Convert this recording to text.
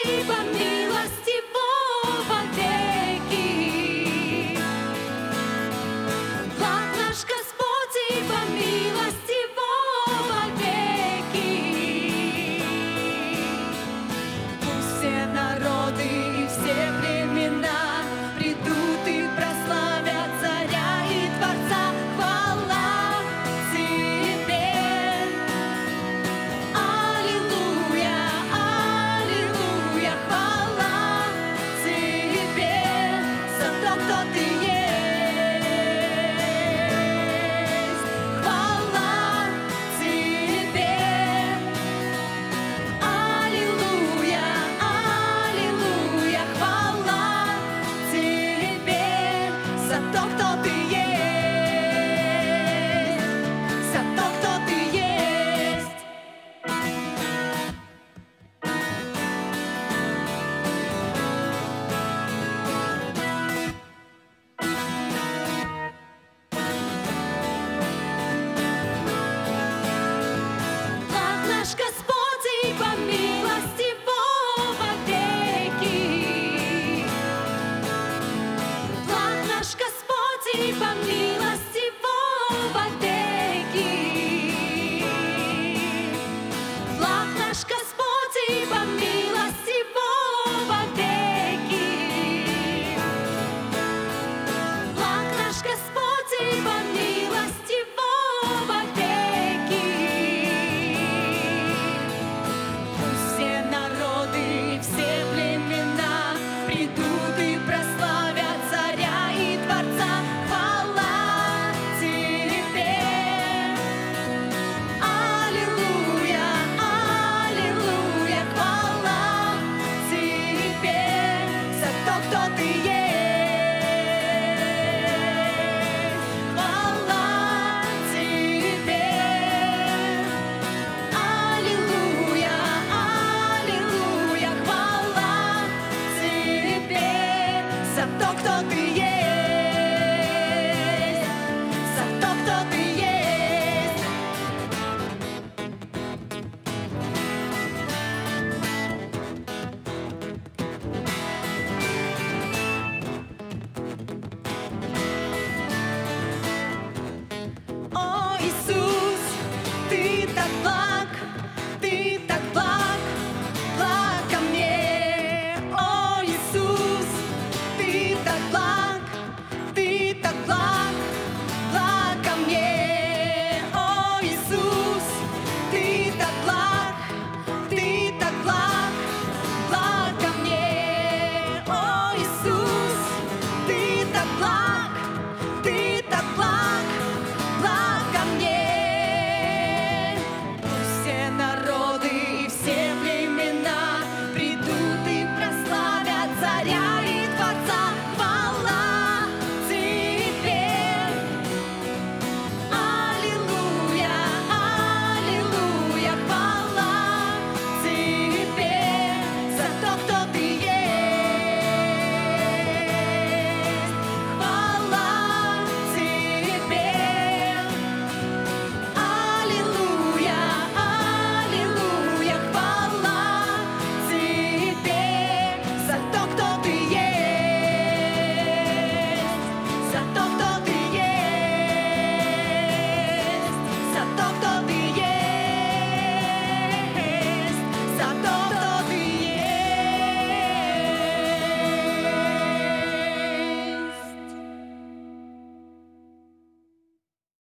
спасибо, милостивого веки. Благ наш Господь, ибо милостивого веки. Пусть все народы и все племена придут и прославят Царя и Творца. Хвала Тебе! Аллилуйя, аллилуйя, хвала Тебе за то, кто Ты есть. Хвала Тебе! Аллилуйя, аллилуйя, хвала Тебе за то, кто Ты есть, за то, кто Ты есть. Благ наш Господь, ибо милостивого веки. Благ наш Господь, ибо милостивого веки. Благ наш Господь, ибо милостивого веки. Благ наш Господь, ибо милостивого веки. Пусть все народы и все племена придут и прославят Царя и Творца. Хвала Тебе! Аллилуйя, аллилуйя, хвала Тебе за то, кто Ты есть. Хвала Тебе! Аллилуйя, аллилуйя, хвала Тебе за то, кто Ты есть, за то, кто Ты есть. О, Иисус, Ты так благ.